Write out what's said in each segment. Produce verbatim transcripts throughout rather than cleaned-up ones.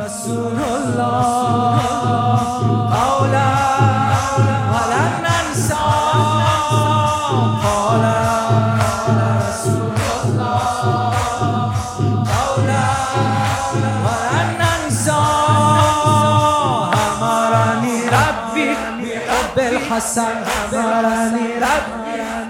رسول الله قولا ولن ننسى قال رسول الله قولا ولن ننسى أمرني ربي بحب الحسن أمرني ربي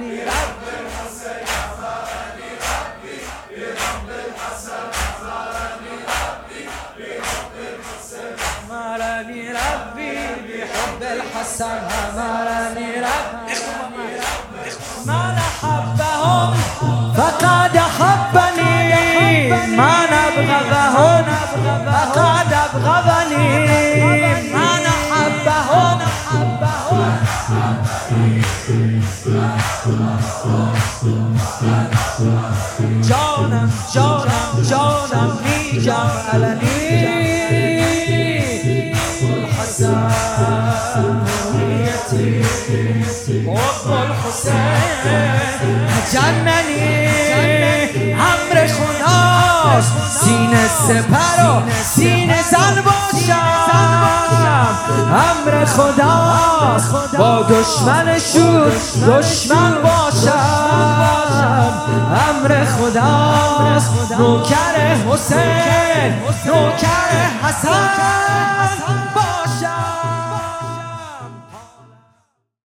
أمرني ربي بحب الحسن أمرني ربي من أحبهم فقد أحبني من أبغضهم فقد أبغضني من أحبهم جانم جانم جانم میگم علنی الحسن حب الحسین جننی امر خداست سینه سپر و سینه زن باشم امر خداست با دشمن شور دشمن باشم امر خداست نوکر حسین نوکر حسن